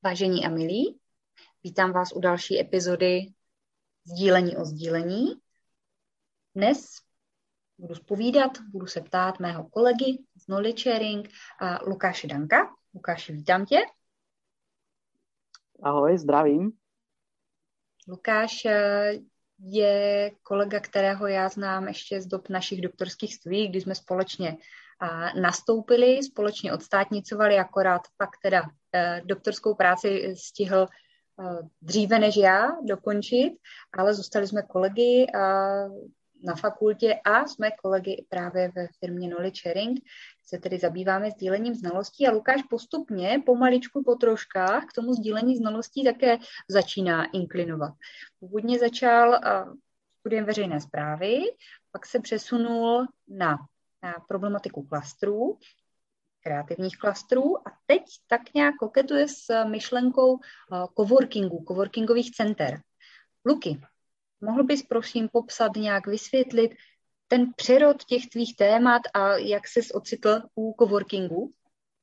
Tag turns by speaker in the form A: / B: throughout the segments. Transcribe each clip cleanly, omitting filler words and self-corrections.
A: Vážení a milí, vítám vás u další epizody Sdílení o sdílení. Dnes budu se ptát mého kolegy z Knowledge Sharing a Lukáše Danka. Lukáši, vítám tě.
B: Ahoj, zdravím.
A: Lukáš je kolega, kterého já znám ještě z dob našich doktorských studií, kdy jsme společně nastoupili, společně odstátnicovali, akorát pak teda doktorskou práci stihl dříve než já dokončit, ale zůstali jsme kolegy na fakultě a jsme kolegy právě ve firmě Knowledge Sharing, se tedy zabýváme sdílením znalostí a Lukáš postupně, pomaličku, po troškách k tomu sdílení znalostí také začíná inklinovat. Původně začal studiem veřejné správy, pak se přesunul na problematiku klastrů, kreativních klastrů a teď tak nějak koketuje s myšlenkou coworkingových center. Luky, mohl bys prosím popsat, nějak vysvětlit ten přerod těch tvých témat a jak ses ocitl u coworkingu?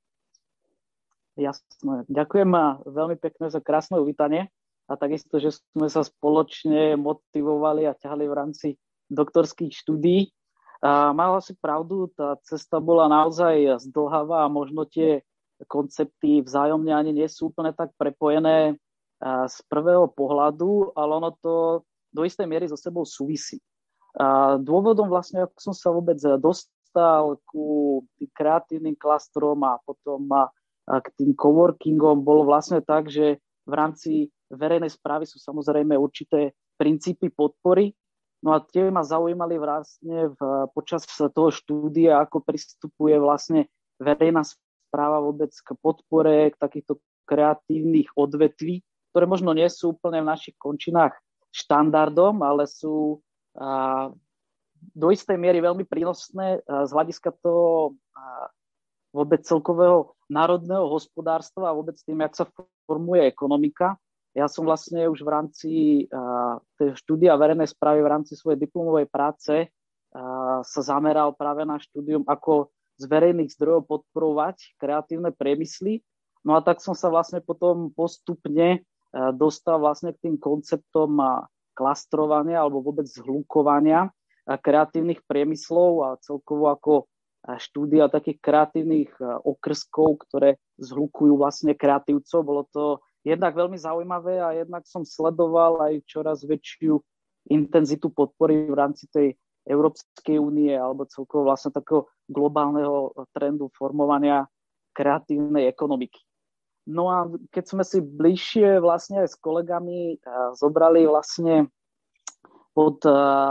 B: Jasné. Ďakujem veľmi pekne za krásne uvítanie a takisto, že sme sa spoločne motivovali a ťahali v rámci doktorských štúdií. Mala si pravdu, tá cesta bola naozaj zdĺhavá a možno tie koncepty vzájomne ani nie sú úplne tak prepojené z prvého pohľadu, ale ono to do istej miery so sebou súvisí. Dôvodom vlastne, ako som sa vôbec dostal ku tým kreatívnym klastrom a potom k tým coworkingom, bolo vlastne tak, že v rámci verejnej správy sú samozrejme určité princípy podpory. No a tie ma zaujímali vlastne počas toho štúdia, ako pristupuje vlastne verejná správa vôbec k podpore, k takýchto kreatívnych odvetví, ktoré možno nie sú úplne v našich končinách štandardom, ale sú do istej miery veľmi prínosné z hľadiska toho vôbec celkového národného hospodárstva a vôbec tým, jak sa formuje ekonomika. Ja som vlastne už v rámci štúdia verejnej správy, v rámci svojej diplomovej práce sa zameral práve na štúdium, ako z verejných zdrojov podporovať kreatívne priemysly. No a tak som sa vlastne potom postupne dostal vlastne k tým konceptom klastrovania alebo vôbec zhlukovania kreatívnych priemyslov a celkovo ako štúdia takých kreatívnych okrskov, ktoré zhlukujú vlastne kreatívcov. Bolo to jednak veľmi zaujímavé a jednak som sledoval aj čoraz väčšiu intenzitu podpory v rámci tej Európskej únie alebo celkovo vlastne takého globálneho trendu formovania kreatívnej ekonomiky. No a keď sme si bližšie vlastne aj s kolegami zobrali vlastne pod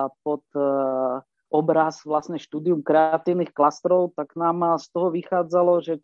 B: obraz vlastne štúdium kreatívnych klastrov, tak nám z toho vychádzalo, že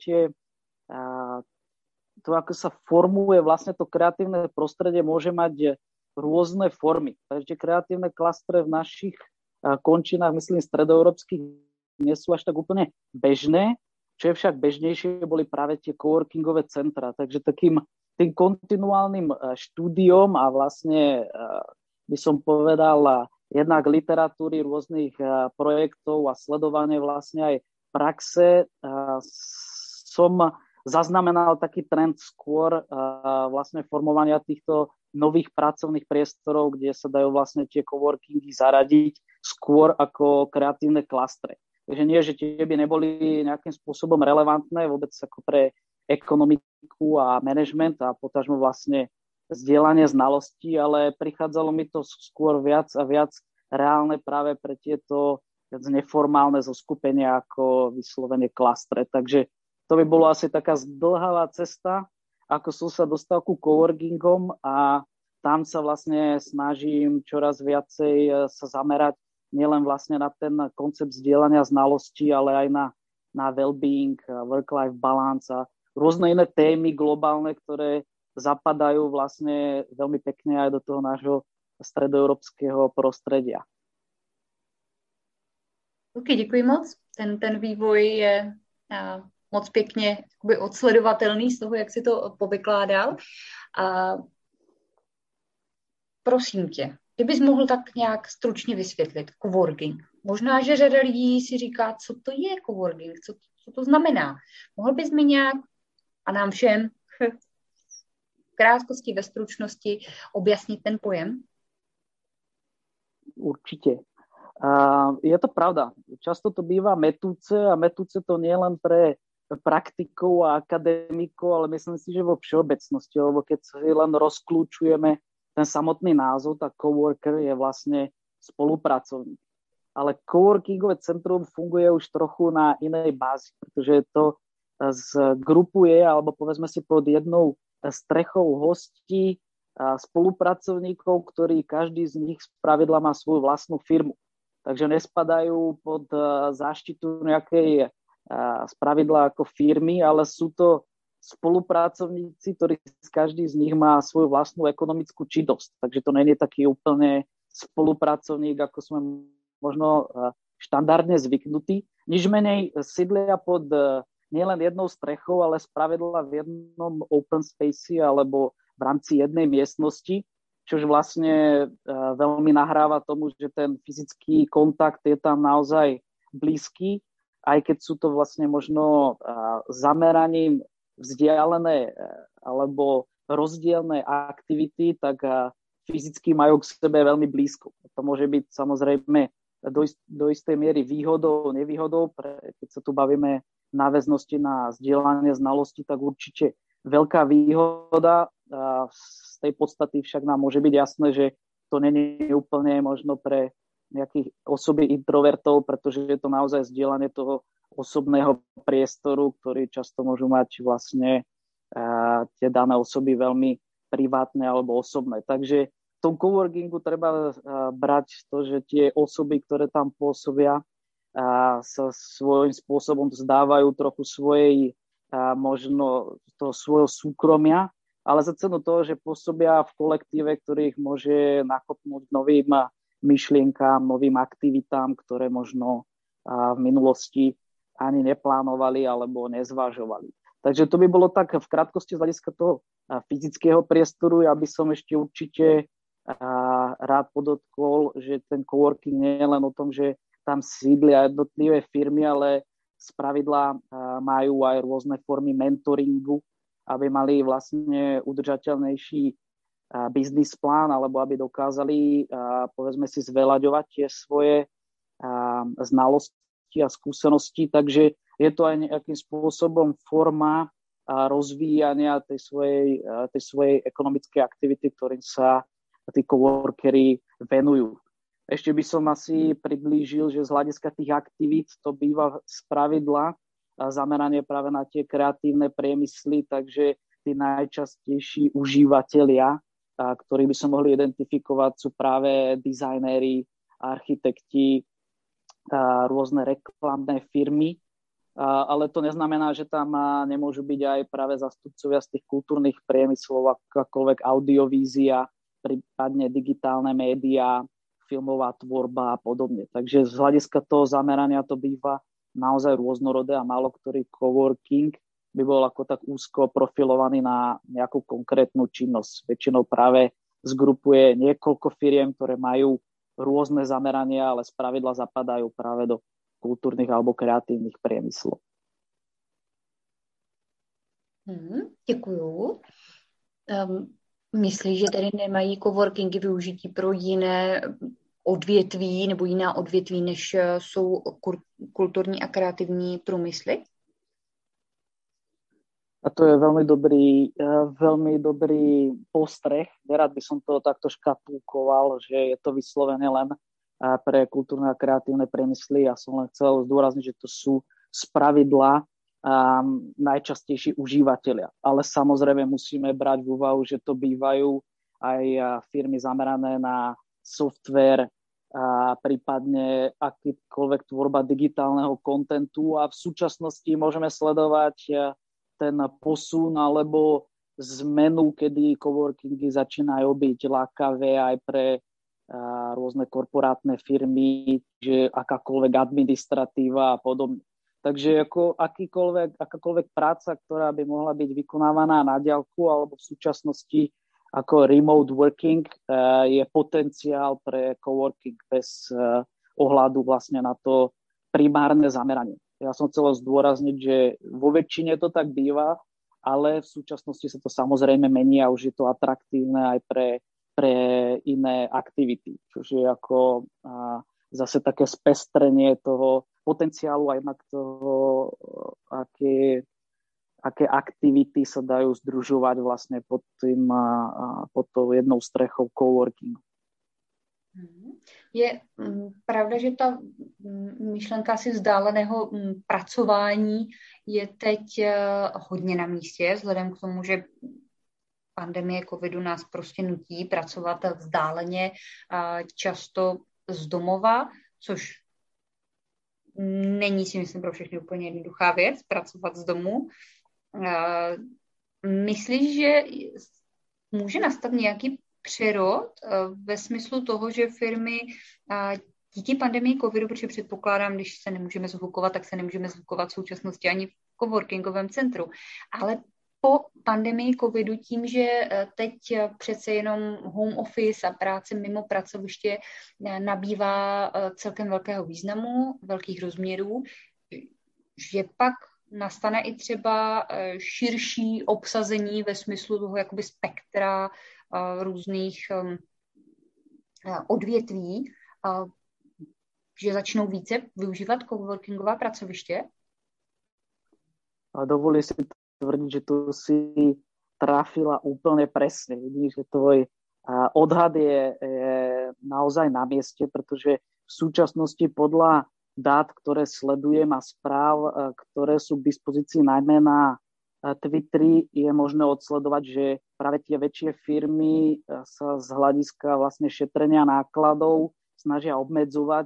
B: to, ako sa formuje vlastne to kreatívne prostredie, môže mať rôzne formy. Takže kreatívne klastre v našich končinách, myslím, stredoeurópskych, nie sú až tak úplne bežné. Čo je však bežnejšie, boli práve tie coworkingové centra. Takže takým tým kontinuálnym štúdiom a vlastne by som povedal jednak literatúry rôznych projektov a sledovanie vlastne aj praxe som zaznamenal taký trend skôr vlastne formovania týchto nových pracovných priestorov, kde sa dajú vlastne tie coworkingy zaradiť skôr ako kreatívne klastre. Takže nie, že tie by neboli nejakým spôsobom relevantné vôbec ako pre ekonomiku a management a potažmo vlastne zdieľanie znalostí, ale prichádzalo mi to skôr viac a viac reálne práve pre tieto neformálne zoskupenia ako vyslovene klastre. Takže to by bolo asi taká zdĺhavá cesta, ako som sa dostal ku coworkingom a tam sa vlastne snažím čoraz viacej sa zamerať nielen vlastne na ten koncept zdieľania znalostí, ale aj na well-being, work-life balance a rôzne iné témy globálne, ktoré zapadajú vlastne veľmi pekne aj do toho nášho stredoeurópskeho prostredia.
A: Ok, děkuji moc. Ten vývoj je moc pěkně odsledovatelný z toho, jak si to povykládal. Prosím tě, kdybys mohl tak nějak stručně vysvětlit coworking. Možná, že řada lidí si říká, co to je coworking, co to znamená. Mohl bys mi nějak, a nám všem, krátkosti, ve stručnosti objasnit ten pojem?
B: Určite. Je to pravda. Často to býva metúce a metúce to nie len pre praktikov a akademikov, ale myslím si, že vo všeobecnosti, lebo keď si len rozklúčujeme ten samotný názov, tak coworker je vlastne spolupracovník. Ale coworkingové centrum funguje už trochu na inej bázi, pretože to zgrupuje, alebo povedzme si pod jednou strechou hostí spolupracovníkov, ktorí každý z nich spravidla má svoju vlastnú firmu. Takže nespadajú pod záštitu nejakej spravidla ako firmy, ale sú to spolupracovníci, ktorí každý z nich má svoju vlastnú ekonomickú činnosť. Takže to nie je taký úplne spolupracovník, ako sme možno štandardne zvyknutí. Nič menej sídlia pod nielen jednou strechou, ale spravidla v jednom open space alebo v rámci jednej miestnosti, čož vlastne veľmi nahráva tomu, že ten fyzický kontakt je tam naozaj blízky, aj keď sú to vlastne možno zameraním vzdialené alebo rozdielne aktivity, tak fyzicky majú k sebe veľmi blízko. To môže byť samozrejme do istej miery výhodou, nevýhodou, keď sa tu bavíme náväznosti na zdieľanie znalostí, tak určite veľká výhoda. Z tej podstaty však nám môže byť jasné, že to nie je úplne možno pre nejakých osoby introvertov, pretože je to naozaj zdieľanie toho osobného priestoru, ktorý často môžu mať vlastne tie dané osoby veľmi privátne alebo osobné. Takže v tom coworkingu treba brať to, že tie osoby, ktoré tam pôsobia, sa svojím spôsobom vzdávajú trochu svojej možno toho svojho súkromia, ale za cenu toho, že pôsobia v kolektíve, ktorých môže nakopnúť novým myšlienkám, novým aktivitám, ktoré možno v minulosti ani neplánovali alebo nezvažovali. Takže to by bolo tak v krátkosti z hľadiska toho fyzického priestoru. Ja by som ešte určite rád podotkol, že ten coworking nie je len o tom, že tam sídlia jednotlivé firmy, ale spravidla majú aj rôzne formy mentoringu, aby mali vlastne udržateľnejší biznis plán, alebo aby dokázali, povedzme si, zveľaďovať tie svoje znalosti a skúsenosti. Takže je to aj nejakým spôsobom forma rozvíjania tej svojej ekonomickej aktivity, ktorým sa tí coworkery venujú. Ešte by som asi priblížil, že z hľadiska tých aktivít to býva spravidla zameranie práve na tie kreatívne priemysly, takže tí najčastejší užívateľia, ktorí by som mohli identifikovať, sú práve dizajnéri, architekti, rôzne reklamné firmy, ale to neznamená, že tam nemôžu byť aj práve zastupcovia z tých kultúrnych priemyslov, akákoľvek audiovízia, prípadne digitálne médiá, filmová tvorba a podobne. Takže z hľadiska toho zamerania to býva naozaj rôznorodé a málo ktorý coworking by bol ako tak úzko profilovaný na nejakú konkrétnu činnosť. Väčšinou práve zgrupuje niekoľko firiem, ktoré majú rôzne zamerania, ale spravidla zapadajú práve do kultúrnych alebo kreatívnych priemyslov.
A: Děkuju. Myslíš, že tady nemají coworkingy využití pro jiné odvětví nebo jiná odvětví, než jsou kulturní a kreativní průmysly?
B: A to je veľmi dobrý postreh. Nerad by som to takto škatulkoval, že je to vyslovené len pre kultúrne a kreatívne priemysly. Ja som len chcel zdôrazniť, že to sú spravidla najčastejší užívateľia. Ale samozrejme musíme brať v úvahu, že to bývajú aj firmy zamerané na software, prípadne akýkoľvek tvorba digitálneho kontentu a v súčasnosti môžeme sledovať ten posun alebo zmenu, kedy coworkingy začínajú byť lákavé aj pre rôzne korporátne firmy, že akákoľvek administratíva a podobne. Takže ako akákoľvek práca, ktorá by mohla byť vykonávaná na diaľku alebo v súčasnosti ako remote working, je potenciál pre coworking bez ohľadu vlastne na to primárne zameranie. Ja som chcel zdôrazniť, že vo väčšine to tak býva, ale v súčasnosti sa to samozrejme mení a už je to atraktívne aj pre iné aktivity. Čiže ako zase také spestrenie toho potenciálu aj jednak toho, aké aktivity sa dajú združovať vlastne pod tou jednou strechou coworkingu.
A: Je pravda, že ta myšlenka asi vzdáleného pracování je teď hodně na místě, vzhledem k tomu, že pandemie covidu nás prostě nutí pracovat vzdáleně, často z domova, což není, si myslím, pro všechny úplně jednoduchá věc, pracovat z domu. Myslíš, že může nastat nějaký přerod ve smyslu toho, že firmy díky pandemii covidu, protože předpokládám, když se nemůžeme zhlukovat, tak se nemůžeme zhlukovat v současnosti ani v coworkingovém centru, ale po pandemii covidu tím, že teď přece jenom home office a práce mimo pracoviště nabývá celkem velkého významu, velkých rozměrů, že pak nastane i třeba širší obsazení ve smyslu toho jakoby spektra různých odvětví, že začnou více využívat coworkingová pracoviště?
B: A dovolí si tvrdiť, že tu si trafila úplne presne. Vidíš, že tvoj odhad je naozaj na mieste, pretože v súčasnosti podľa dát, ktoré sledujem a správ, ktoré sú k dispozícii najmä na Twitteri, je možné odsledovať, že práve tie väčšie firmy sa z hľadiska vlastne šetrenia nákladov snažia obmedzovať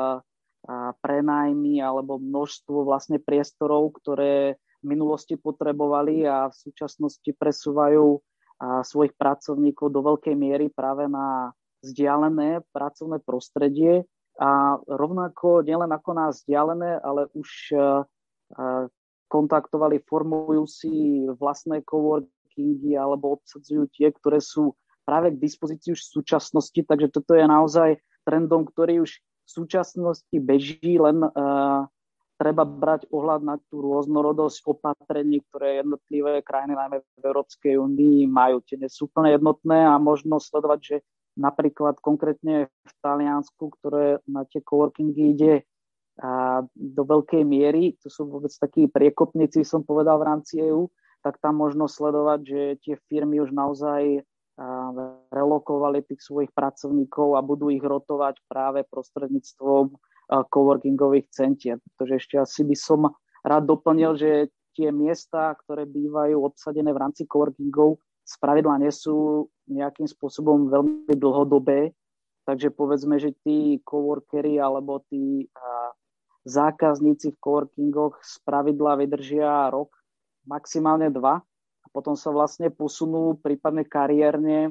B: prenájmy alebo množstvo vlastne priestorov, ktoré v minulosti potrebovali a v súčasnosti presúvajú svojich pracovníkov do veľkej miery práve na vzdialené pracovné prostredie a rovnako nielen ako na vzdialené, ale už kontaktovali, formujú si vlastné coworkingy alebo obsadzujú tie, ktoré sú práve k dispozícii už v súčasnosti, takže toto je naozaj trendom, ktorý už v súčasnosti beží, len treba brať ohľad na tú rôznorodosť opatrení, ktoré jednotlivé krajiny, najmä v Európskej únii, majú. Tie nie sú úplne jednotné a možno sledovať, že napríklad konkrétne v Taliansku, ktoré na tie coworkingy ide do veľkej miery, to sú vôbec takí priekopníci, som povedal, v rámci EÚ, tak tam možno sledovať, že tie firmy už naozaj relokovali tých svojich pracovníkov a budú ich rotovať práve prostredníctvom coworkingových centier. Pretože ešte asi by som rád doplnil, že tie miesta, ktoré bývajú obsadené v rámci coworkingov, spravidla nie sú nejakým spôsobom veľmi dlhodobé. Takže povedzme, že tí coworkery alebo tí zákazníci v coworkingoch spravidla vydržia rok, maximálne 2 a potom sa vlastne posunú prípadne kariérne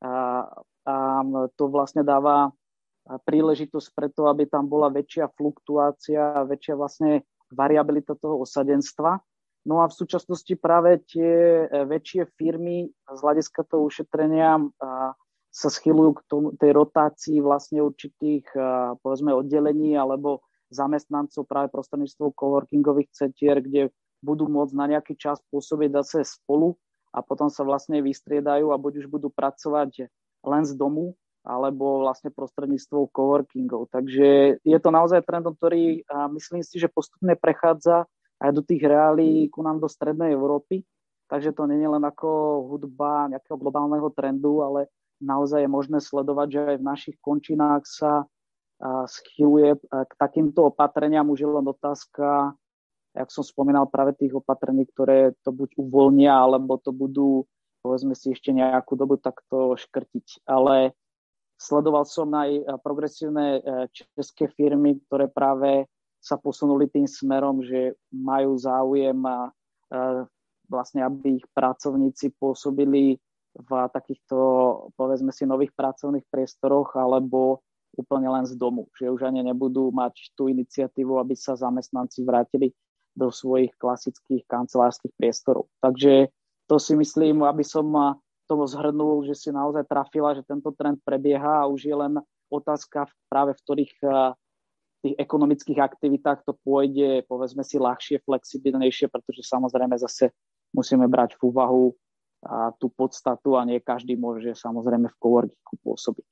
B: a to vlastne dáva príležitosť preto, aby tam bola väčšia fluktuácia a väčšia vlastne variabilita toho osadenstva. No a v súčasnosti práve tie väčšie firmy z hľadiska toho ušetrenia sa schylujú k tej rotácii vlastne určitých povedzme oddelení alebo zamestnancov práve prostredníctvom coworkingových centier, kde budú môcť na nejaký čas pôsobiť zase spolu a potom sa vlastne vystriedajú a buď už budú pracovať len z domu, alebo vlastne prostredníctvom coworkingov. Takže je to naozaj trend, ktorý myslím si, že postupne prechádza aj do tých reálií ku nám do strednej Európy. Takže to nie je len ako hudba nejakého globálneho trendu, ale naozaj je možné sledovať, že aj v našich končinách sa schyluje k takýmto opatreniam. Už je len otázka, jak som spomínal, práve tých opatrení, ktoré to buď uvoľnia, alebo to budú, povedzme si, ešte nejakú dobu takto škrtiť. Ale sledoval som aj progresívne české firmy, ktoré práve sa posunuli tým smerom, že majú záujem vlastne, aby ich pracovníci pôsobili v takýchto, povedzme si, nových pracovných priestoroch alebo úplne len z domu. Že už ani nebudú mať tú iniciatívu, aby sa zamestnanci vrátili do svojich klasických kancelárskych priestorov. Takže to si myslím, aby som tomu zhrnul, že si naozaj trafila, že tento trend prebieha a už je len otázka práve v ktorých tých ekonomických aktivitách to pôjde, povedzme si, ľahšie, flexibilnejšie, pretože samozrejme zase musíme brať v úvahu tú podstatu a nie každý môže samozrejme v coworkingu pôsobiť.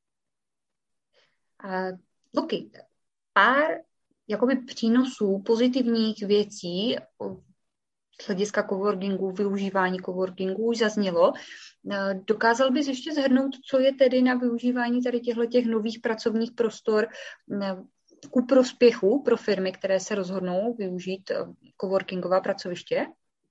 A: OK, pár jakoby přínosů, pozitivních věcí z hlediska coworkingu, využívání coworkingu už zaznělo. Dokázal bys ještě shrnout, co je tedy na využívání tady těch nových pracovních prostor ku prospěchu pro firmy, které se rozhodnou využít coworkingová pracoviště?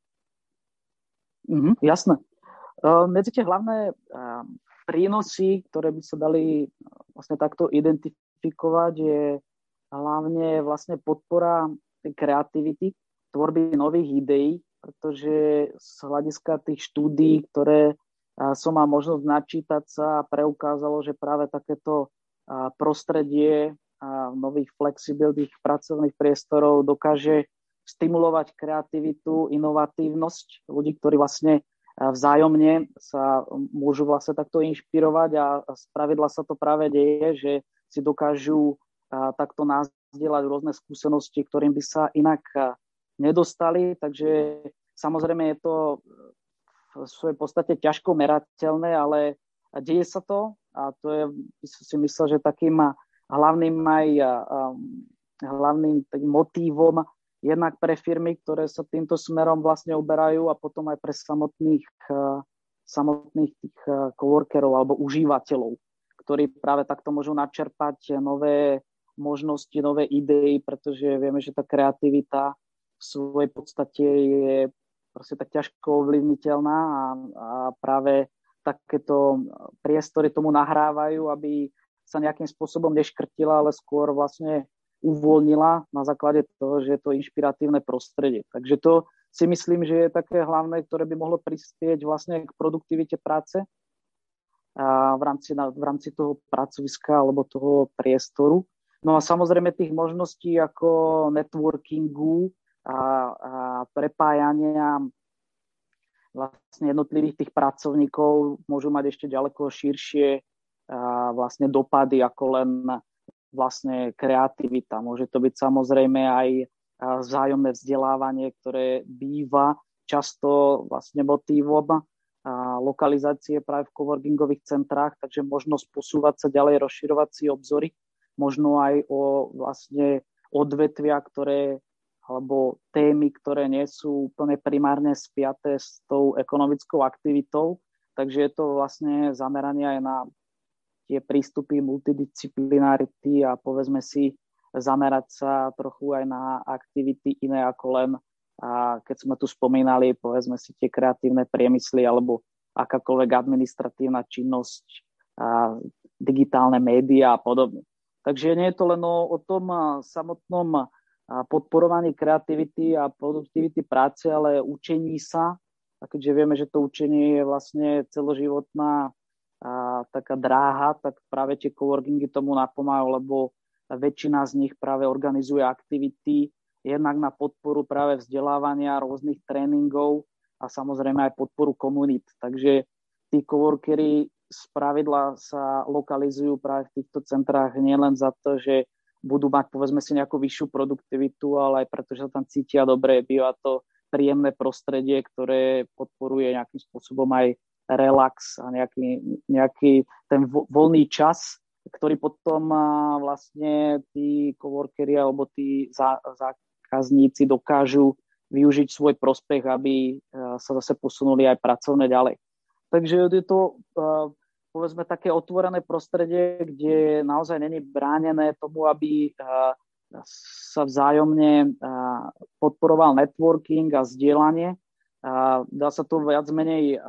B: Jasné. Medzi tie hlavné prínosy, ktoré by sa dali vlastne takto identifikovať, je hlavne vlastne podpora kreativity, tvorby nových ideí, pretože z hľadiska tých štúdií, ktoré som mal možnosť načítať sa, preukázalo, že práve takéto prostredie nových flexibilných pracovných priestorov dokáže stimulovať kreativitu, inovatívnosť ľudí, ktorí vlastne vzájomne sa môžu vlastne takto inšpirovať a spravidla sa to práve deje, že si dokážu takto nazdieľať rôzne skúsenosti, ktorým by sa inak nedostali. Takže samozrejme je to v svojej podstate ťažko merateľné, ale deje sa to a to je, si myslel, že takým hlavným motívom jednak pre firmy, ktoré sa týmto smerom vlastne uberajú a potom aj pre samotných tých coworkerov alebo užívateľov, ktorí práve takto môžu načerpať nové možnosti, nové idei, pretože vieme, že tá kreativita v svojej podstate je proste tak ťažko ovlivniteľná a práve takéto priestory tomu nahrávajú, aby sa nejakým spôsobom neškrtila, ale skôr vlastne uvoľnila na základe toho, že je to inšpiratívne prostredie. Takže to si myslím, že je také hlavné, ktoré by mohlo prispieť vlastne k produktivite práce v rámci toho pracoviska alebo toho priestoru. No a samozrejme tých možností ako networkingu a prepájania vlastne jednotlivých tých pracovníkov môžu mať ešte ďaleko širšie vlastne dopady ako len vlastne kreativita. Môže to byť samozrejme aj vzájomné vzdelávanie, ktoré býva často vlastne motívom lokalizácie práve v coworkingových centrách, takže možnosť posúvať sa ďalej, rozširovať si obzory, možno aj o vlastne odvetvia, alebo témy, ktoré nie sú úplne primárne spiaté s tou ekonomickou aktivitou, takže je to vlastne zameranie aj na tie prístupy multidisciplinarity a povedzme si zamerať sa trochu aj na aktivity iné ako len, keď sme tu spomínali, povedzme si tie kreatívne priemysly alebo akákoľvek administratívna činnosť, digitálne médiá a podobne. Takže nie je to len o tom samotnom podporovaní kreativity a produktivity práce, ale učení sa. A keďže vieme, že to učenie je vlastne celoživotná taká dráha, tak práve tie coworkingy tomu napomáhajú, lebo väčšina z nich práve organizuje aktivity jednak na podporu práve vzdelávania, rôznych tréningov a samozrejme aj podporu komunít. Takže tí coworkery spravidla sa lokalizujú práve v týchto centrách nielen za to, že budú mať povedzme si nejakú vyššiu produktivitu, ale aj preto, že sa tam cítia dobre, býva to príjemné prostredie, ktoré podporuje nejakým spôsobom aj relax a nejaký ten voľný čas, ktorý potom vlastne tí coworkeri alebo tí zákazníci dokážu využiť svoj prospech, aby sa zase posunuli aj pracovne ďalej. Takže je to povedzme také otvorené prostredie, kde naozaj není bránené tomu, aby sa vzájomne podporoval networking a zdieľanie. Dá sa to viac menej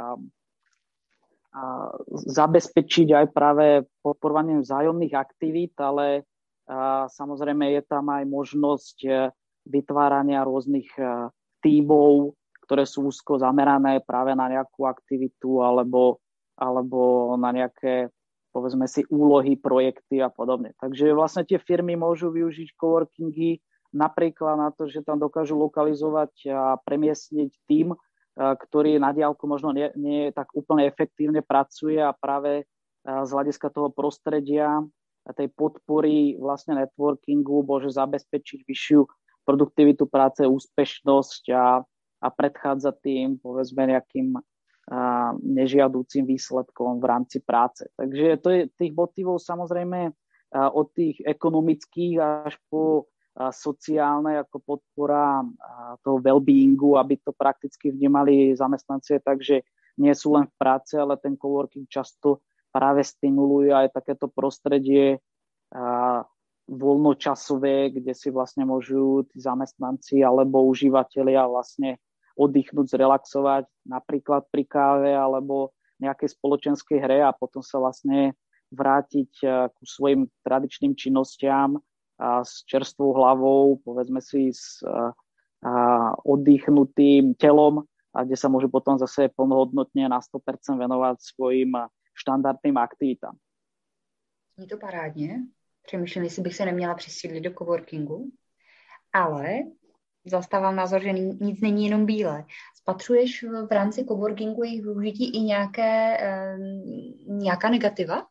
B: zabezpečiť aj práve podporovaním vzájomných aktivít, ale samozrejme je tam aj možnosť vytvárania rôznych tímov, ktoré sú úzko zamerané práve na nejakú aktivitu alebo na nejaké, povedzme si, úlohy, projekty a podobne. Takže vlastne tie firmy môžu využiť coworkingy napríklad na to, že tam dokážu lokalizovať a premiestniť tím, ktorý na diaľku možno nie tak úplne efektívne pracuje a práve z hľadiska toho prostredia a tej podpory vlastne networkingu môže zabezpečiť vyššiu produktivitu práce, úspešnosť a a predchádzať tým, povedzme, nejakým nežiadúcim výsledkom v rámci práce. Takže to je tých motivov samozrejme od tých ekonomických až po sociálne ako podpora toho well-beingu, aby to prakticky vnímali zamestnanci, takže nie sú len v práci, ale ten coworking často práve stimuluje aj takéto prostredie voľnočasové, kde si vlastne môžu tí zamestnanci alebo užívateľia vlastne oddychnúť, zrelaxovať, napríklad pri káve alebo nejakej spoločenskej hre a potom sa vlastne vrátiť ku svojim tradičným činnostiam s čerstvou hlavou, povedzme si s oddychnutým telom, a kde sa môžu potom zase plnohodnotne na 100% venovať svojim štandardným aktivitám.
A: Je to parádně. Přemýšlím, jestli bych se neměla přisídlit do coworkingu, ale zastávám názor, že nic není jenom bílé. Spatřuješ v rámci coworkingu jejich využití i nějaká negativa?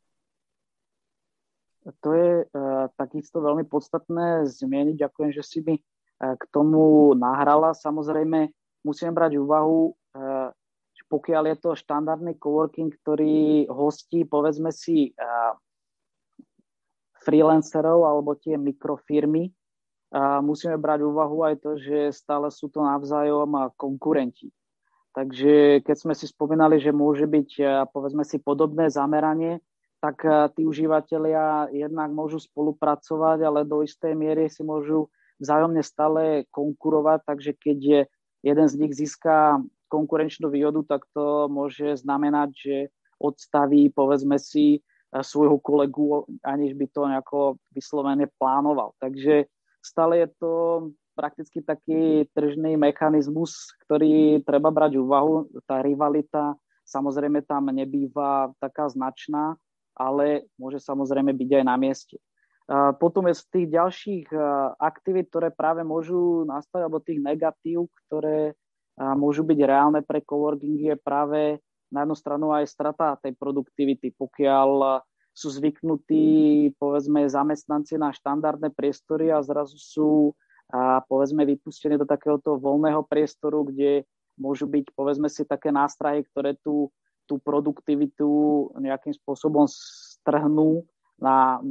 B: To je takisto veľmi podstatné zmieniť. Ďakujem, že si mi k tomu nahrala. Samozrejme, musíme brať úvahu, že pokiaľ je to štandardný coworking, ktorý hostí, povedzme si, freelancerov alebo tie mikrofirmy, musíme brať úvahu aj to, že stále sú to navzájom konkurenti. Takže keď sme si spomínali, že môže byť, povedzme si, podobné zameranie, tak tí užívateľia jednak môžu spolupracovať, ale do istej miery si môžu vzájomne stále konkurovať, takže keď jeden z nich získa konkurenčnú výhodu, tak to môže znamenať, že odstaví, povedzme si, svojho kolegu, aniž by to nejako vyslovene plánoval. Takže stále je to prakticky taký tržný mechanizmus, ktorý treba brať úvahu. Tá rivalita samozrejme tam nebýva taká značná, ale môže samozrejme byť aj na mieste. Potom je z tých ďalších aktivít, ktoré práve môžu nastať, alebo tých negatív, ktoré môžu byť reálne pre coworkingy, je práve na jednu stranu aj strata tej produktivity. Pokiaľ sú zvyknutí, povedzme, zamestnanci na štandardné priestory a zrazu sú, povedzme, vypustení do takéhoto voľného priestoru, kde môžu byť, povedzme si, také nástrahy, ktoré tú produktivitu nejakým spôsobom strhnú na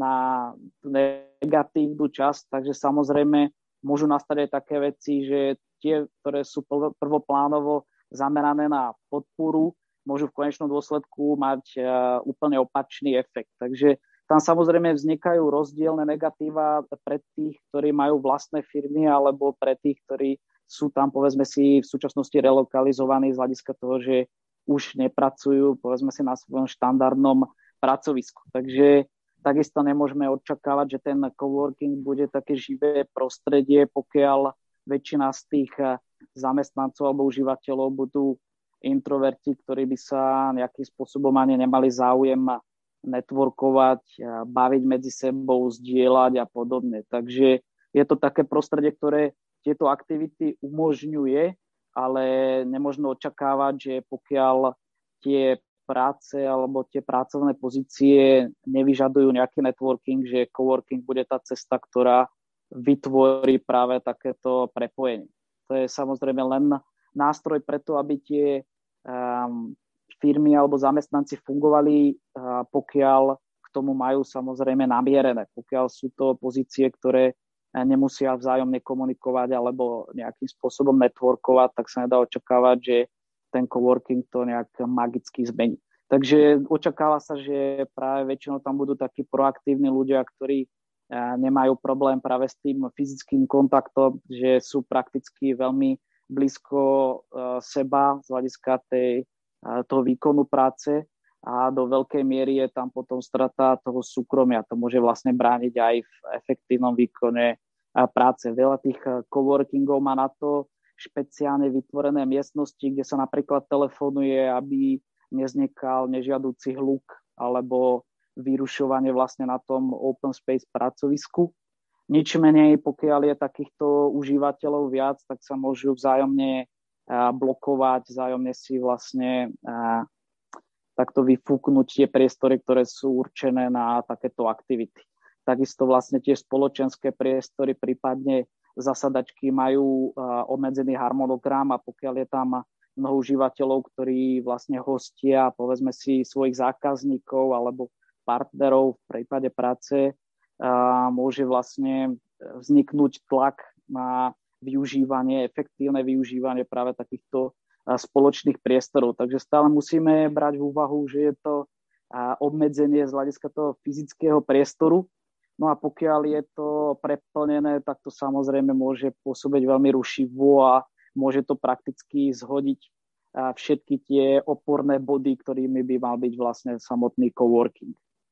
B: negatívnu časť. Takže samozrejme môžu nastať aj také veci, že tie, ktoré sú prvoplánovo zamerané na podporu, môžu v konečnom dôsledku mať úplne opačný efekt. Takže tam samozrejme vznikajú rozdielne negatíva pre tých, ktorí majú vlastné firmy, alebo pre tých, ktorí sú tam, povedzme si, v súčasnosti relokalizovaní z hľadiska toho, že už nepracujú, povedzme si, na svojom štandardnom pracovisku. Takže takisto nemôžeme očakávať, že ten coworking bude také živé prostredie, pokiaľ väčšina z tých zamestnancov alebo užívateľov budú introverti, ktorí by sa nejakým spôsobom ani nemali záujem networkovať, baviť medzi sebou, zdieľať a podobne. Takže je to také prostredie, ktoré tieto aktivity umožňuje, ale nemožno očakávať, že pokiaľ tie práce alebo tie pracovné pozície nevyžadujú nejaký networking, že coworking bude tá cesta, ktorá vytvorí práve takéto prepojenie. To je samozrejme len nástroj preto, aby tie firmy alebo zamestnanci fungovali, pokiaľ k tomu majú samozrejme namierené. Pokiaľ sú to pozície, ktoré nemusia vzájomne komunikovať alebo nejakým spôsobom networkovať, tak sa nedá očakávať, že ten coworking to nejak magicky zmení. Takže očakáva sa, že práve väčšinou tam budú takí proaktívni ľudia, ktorí nemajú problém práve s tým fyzickým kontaktom, že sú prakticky veľmi blízko seba z hľadiska toho výkonu práce a do veľkej miery je tam potom strata toho súkromia. To môže vlastne brániť aj v efektívnom výkone práce. Veľa tých coworkingov má na to špeciálne vytvorené miestnosti, kde sa napríklad telefonuje, aby nevznikal nežiaducí hluk alebo vyrušovanie vlastne na tom open space pracovisku. Nič menej, pokiaľ je takýchto užívateľov viac, tak sa môžu vzájomne blokovať, vzájomne si vlastne takto vyfúknuť tie priestory, ktoré sú určené na takéto aktivity. Takisto vlastne tie spoločenské priestory, prípadne zasadačky majú obmedzený harmonogram a pokiaľ je tam mnoho užívateľov, ktorí vlastne hostia, povedzme si, svojich zákazníkov alebo partnerov v prípade práce, môže vlastne vzniknúť tlak na využívanie, efektívne využívanie práve takýchto spoločných priestorov. Takže stále musíme brať v úvahu, že je to obmedzenie z hľadiska toho fyzického priestoru. No a pokiaľ je to preplnené, tak to samozrejme môže pôsobiť veľmi rušivo a môže to prakticky zhodiť všetky tie oporné body, ktorými by mal byť vlastne samotný coworking.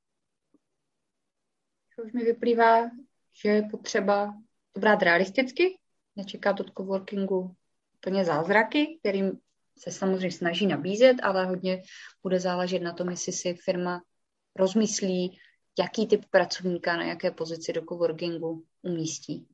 A: Už mi vyplývá, že je potřeba to brát realisticky, nečekat od coworkingu úplně zázraky, kterým se samozřejmě snaží nabízet, ale hodně bude záležet na tom, jestli si firma rozmyslí, jaký typ pracovníka na jaké pozici do coworkingu umístí.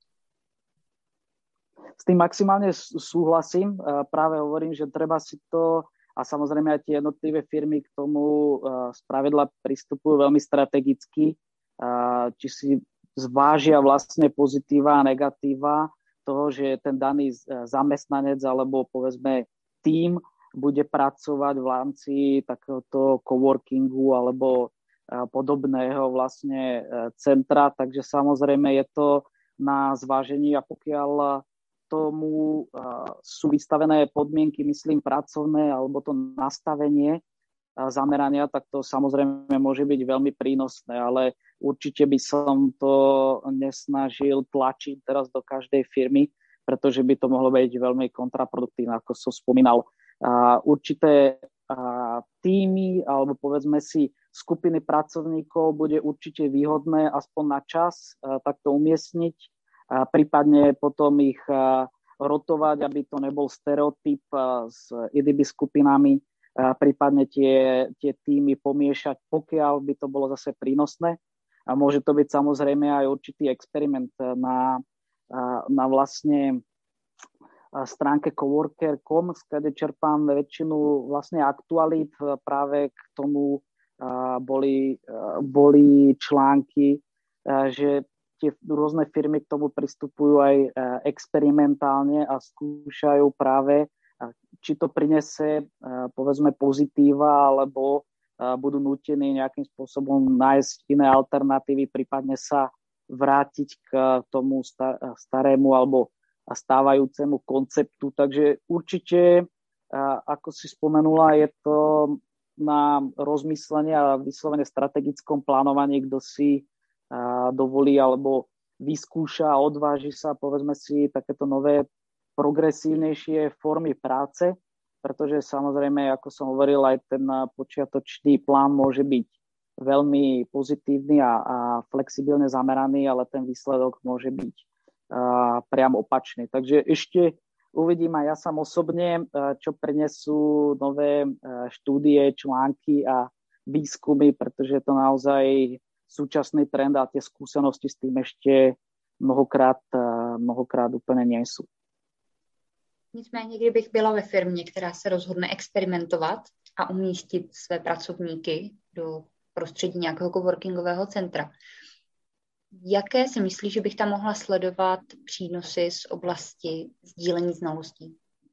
B: S tým maximálne súhlasím. Práve hovorím, že treba si to, a samozrejme aj tie jednotlivé firmy k tomu spravidla pristupujú veľmi strategicky, či si zvážia vlastne pozitíva a negatíva toho, že ten daný zamestnanec alebo povedzme tím bude pracovať v rámci takéhoto coworkingu alebo podobného vlastne centra, takže samozrejme je to na zvážení a pokiaľ tomu sú vystavené podmienky, myslím, pracovné alebo to nastavenie zamerania, tak to samozrejme môže byť veľmi prínosné, ale určite by som to nesnažil tlačiť teraz do každej firmy, pretože by to mohlo byť veľmi kontraproduktívne, ako som spomínal. Určité týmy alebo povedzme si skupiny pracovníkov bude určite výhodné aspoň na čas takto umiestniť, prípadne potom ich rotovať, aby to nebol stereotyp s inými skupinami, prípadne tie týmy pomiešať, pokiaľ by to bolo zase prínosné. A môže to byť samozrejme aj určitý experiment na vlastne stránke coworker.com, skade čerpám väčšinu vlastne aktualít. Práve k tomu boli články, že tie rôzne firmy k tomu pristupujú aj experimentálne a skúšajú práve, či to prinese povedzme pozitíva, alebo budú nútení nejakým spôsobom nájsť iné alternatívy, prípadne sa vrátiť k tomu starému alebo stávajúcemu konceptu. Takže určite, ako si spomenula, je to na rozmyslenie a vyslovene strategickom plánovaní, kto si dovolí alebo vyskúša a odváži sa, povedzme si, takéto nové progresívnejšie formy práce, pretože samozrejme, ako som hovoril, aj ten počiatočný plán môže byť veľmi pozitívny a flexibilne zameraný, ale ten výsledok môže byť priam opačný. Takže ešte uvidím aj ja sám osobne, čo prinesú nové štúdie, články a výskumy, pretože je to naozaj súčasný trend a tie skúsenosti s tým ešte mnohokrát úplně nejsou.
A: Nicméně, kdybych byla ve firmě, která se rozhodne experimentovat a umístit své pracovníky do prostředí nějakého coworkingového centra, jaké si myslíš, že bych tam mohla sledovat přínosy z oblasti sdílení znalostí?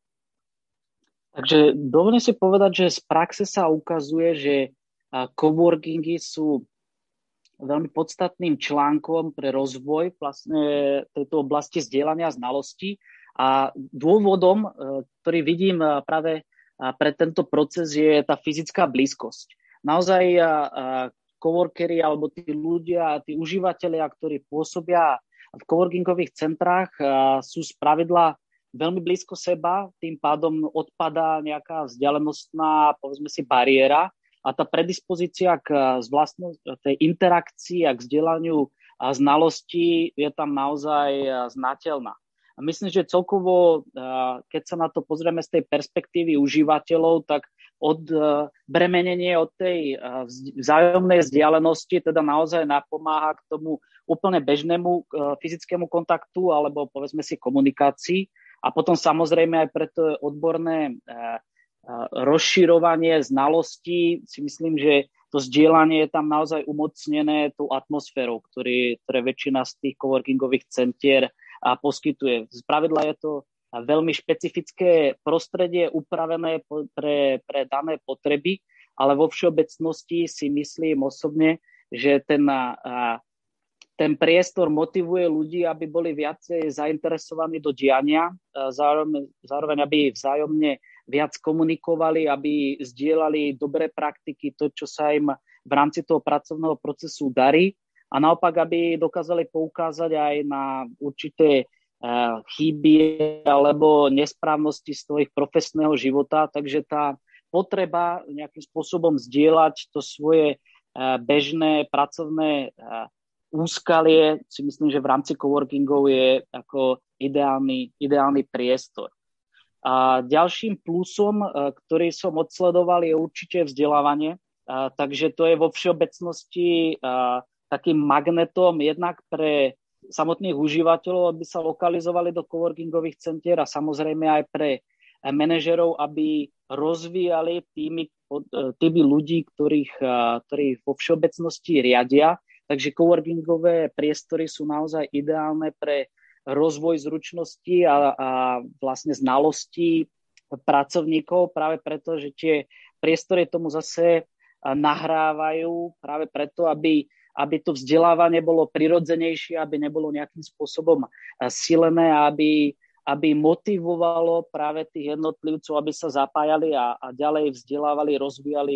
B: Takže dovolím si povedať, že z praxe sa ukazuje, že coworkingy sú veľmi podstatným článkom pre rozvoj vlastne tejto oblasti zdieľania znalostí a dôvodom, ktorý vidím práve pre tento proces, je tá fyzická blízkosť. Naozaj coworkery alebo tí ľudia, tí užívateľia, ktorí pôsobia v coworkingových centrách, sú spravidla veľmi blízko seba, tým pádom odpadá nejaká vzdialenostná, povedzme si, bariéra a tá predispozícia k tej interakcii a k vzdelaniu znalostí je tam naozaj znateľná. A myslím, že celkovo, keď sa na to pozrieme z tej perspektívy užívateľov, tak bremenenie od tej vzájomnej vzdialenosti teda naozaj napomáha k tomu úplne bežnému fyzickému kontaktu alebo povedzme si komunikácii. A potom samozrejme aj pre to odborné rozširovanie znalostí si myslím, že to zdieľanie je tam naozaj umocnené tou atmosférou, ktoré väčšina z tých coworkingových centier poskytuje. Spravidla je to veľmi špecifické prostredie upravené pre dané potreby, ale vo všeobecnosti si myslím osobne, že ten priestor motivuje ľudí, aby boli viacej zainteresovaní do diania, zároveň aby vzájomne viac komunikovali, aby zdieľali dobré praktiky, to, čo sa im v rámci toho pracovného procesu darí, a naopak, aby dokázali poukázať aj na určité chyby alebo nesprávnosti z toho ich profesného života. Takže tá potreba nejakým spôsobom zdieľať to svoje bežné pracovné úskalie, si myslím, že v rámci coworkingov je ako ideálny priestor. A ďalším plusom, ktorý som odsledoval, je určite vzdelávanie. Takže to je vo všeobecnosti takým magnetom jednak pre samotných užívateľov, aby sa lokalizovali do coworkingových centier a samozrejme aj pre manažerov, aby rozvíjali týmy ľudí, ktorých vo všeobecnosti riadia. Takže coworkingové priestory sú naozaj ideálne pre rozvoj zručností a vlastne znalostí pracovníkov, práve preto, že tie priestory tomu zase nahrávajú práve preto, aby to vzdelávanie bolo prirodzenejšie, aby nebolo nejakým spôsobom silené, aby motivovalo práve tých jednotlivcov, aby sa zapájali a ďalej vzdelávali, rozvíjali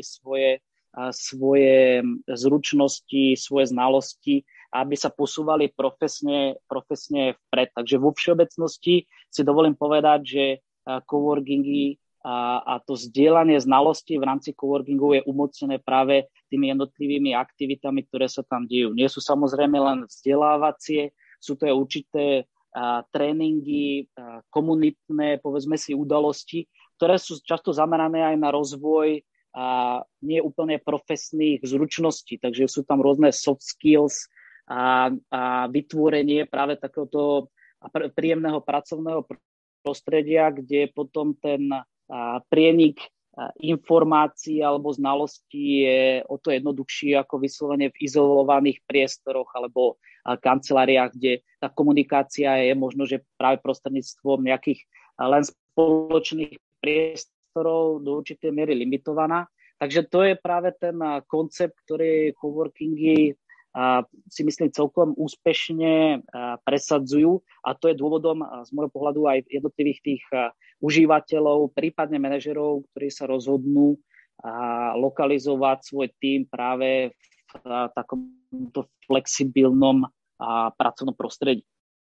B: svoje zručnosti, svoje znalosti, aby sa posúvali profesne vpred. Takže vo všeobecnosti si dovolím povedať, že coworkingy a to zdieľanie znalostí v rámci coworkingu je umocnené práve tými jednotlivými aktivitami, ktoré sa tam dejú. Nie sú samozrejme len vzdelávacie, sú to aj určité tréningy, komunitné, povedzme si, udalosti, ktoré sú často zamerané aj na rozvoj nie úplne profesných zručností. Takže sú tam rôzne soft skills a vytvorenie práve takéhoto príjemného pracovného prostredia, kde potom ten prienik informácií alebo znalostí je o to jednoduchší ako vyslovene v izolovaných priestoroch alebo kanceláriách, kde tá komunikácia je možno, že práve prostredníctvom nejakých len spoločných priestorov do určitej miery limitovaná. Takže to je práve ten koncept, ktorý coworkingy si myslím celkom úspešne presadzujú, a to je dôvodom z môjho pohľadu aj jednotlivých tých užívateľov, prípadne manažerov, ktorí sa rozhodnú lokalizovať svoj tím práve v takomto flexibilnom pracovnom prostredí.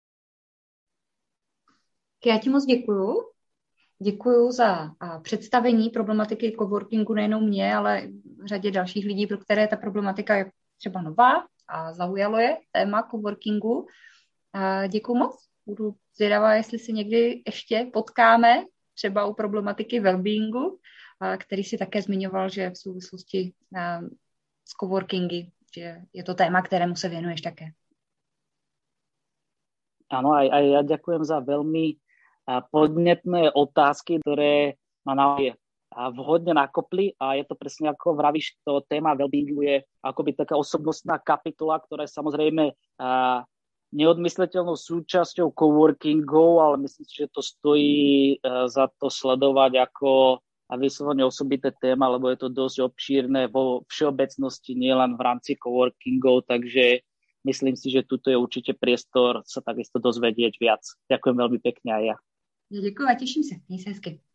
A: Já ti moc děkuju. Děkuju za představení problematiky coworkingu nejenom mě, ale řadě dalších lidí, pro které ta problematika je třeba nová a zaujalo je téma coworkingu. Děkuju moc. Budu zvědavá, jestli si někdy ještě potkáme, třeba u problematiky wellbeingu, který si také zmiňoval, že v souvislosti s coworkingy, že je to téma, kterému se věnuješ také.
B: Áno, aj ja ďakujem za veľmi podnetné otázky, ktoré ma naozaj vhodne nakopli, a je to presne ako vravíš, to téma wellbeingu je akoby taká osobnostná kapitola, ktorá je samozrejme neodmysliteľnou súčasťou coworkingov, ale myslím si, že to stojí za to sledovať ako vyslovene osobité téma, lebo je to dosť obšírne vo všeobecnosti, nielen v rámci coworkingov, takže myslím si, že tuto je určite priestor sa takisto dozvedieť viac. Ďakujem veľmi pekne aj ja.
A: Děkuji a těším se. Měj se hezky.